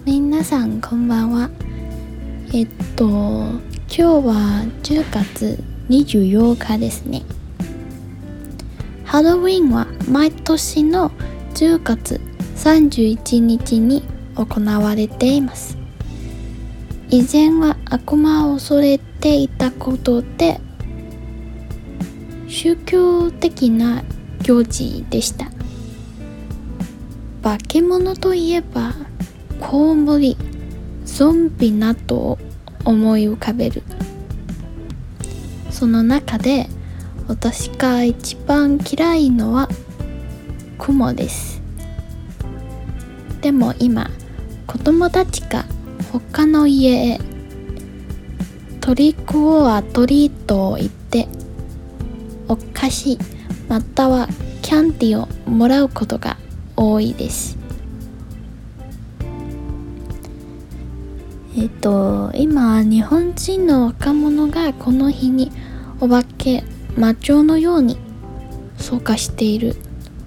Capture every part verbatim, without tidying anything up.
皆さんこんばんは。えっと今日はじゅうがつにじゅうようかですね。ハロウィンは毎年のじゅうがつさんじゅういちにちに行われています。以前は悪魔を恐れていたことで宗教的な行事でした。化け物といえばコウモリ、ゾンビなどを思い浮かべる。その中で私が一番嫌いのはクモです。でも今子供たちが他の家へトリックオアトリートを行ってお菓子またはキャンディーをもらうことが多いです。えっと今日本人の若者がこの日にお化け魔女のように参加している。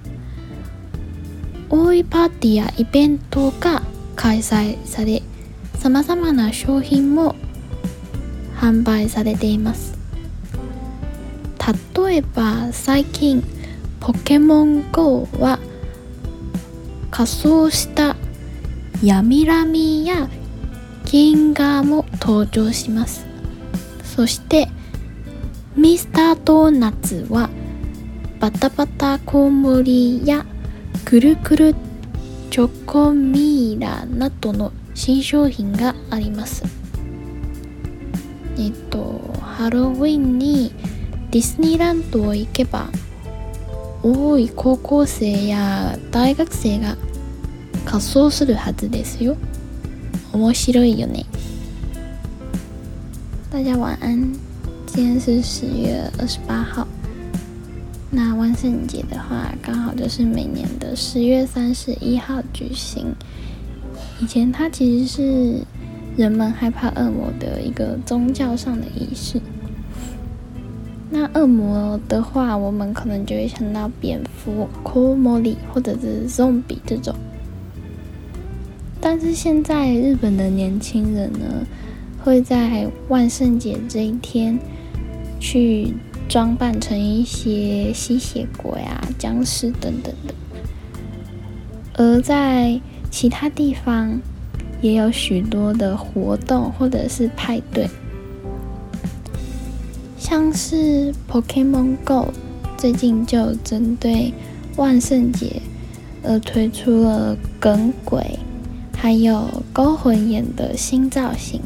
多いパーティーやイベントが開催され、さまざまな商品も販売されています。例えば最近ポケモン ゴー は仮装したヤミラミやギンガーも登場します。そしてミスタードーナツはバタバタコウモリやくるくるチョコミーラなどの新商品があります。えっとハロウィンにディズニーランドへ行けば多い高校生や大学生が仮装するはずですよ。面白いよね。大家晚安，今天是十月二十八号。那万圣节的话，刚好就是每年的十月三十一号举行。以前它其实是人们害怕恶魔的一个宗教上的仪式。那恶魔的话，我们可能就会想到蝙蝠、コウモリ或者是 zombie 这种。但是现在日本的年轻人呢，会在万圣节这一天去装扮成一些吸血鬼啊、僵尸等等的。而在其他地方也有许多的活动或者是派对，像是 Pokemon Go 最近就针对万圣节而推出了耿鬼还有勾魂眼的新造型，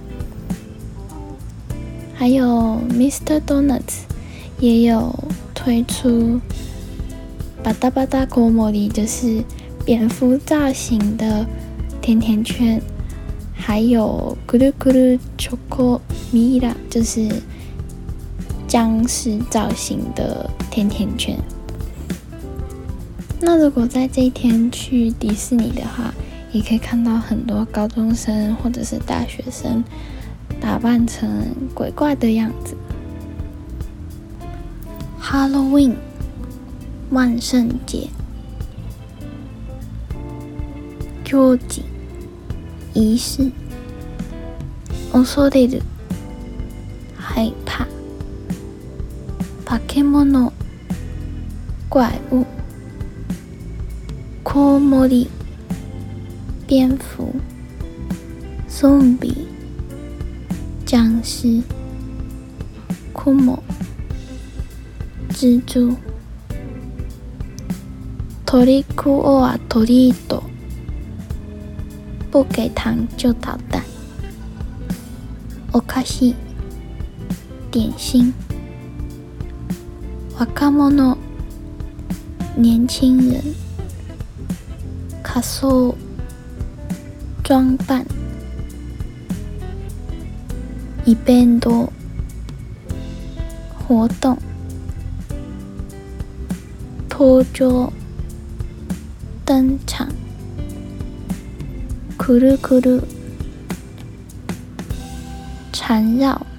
还有 Mister Donuts 也有推出巴达巴达コウモリ，就是蝙蝠造型的甜甜圈，还有くるくるチョコミイラ，就是僵尸造型的甜甜圈。那如果在这一天去迪士尼的话，也可以看到很多高中生或者是大学生打扮成鬼怪的样子。Halloween 万圣节行事仪式恐れる害怕化け物怪物コウモリ蝙蝠、ゾンビ、僵尸、クモ、蜘蛛、トリックオアトリート、不给糖就捣蛋、お菓子、点心、若者、年轻人、仮装装扮、イベント、活動、登場、登場、くるくる、缠绕、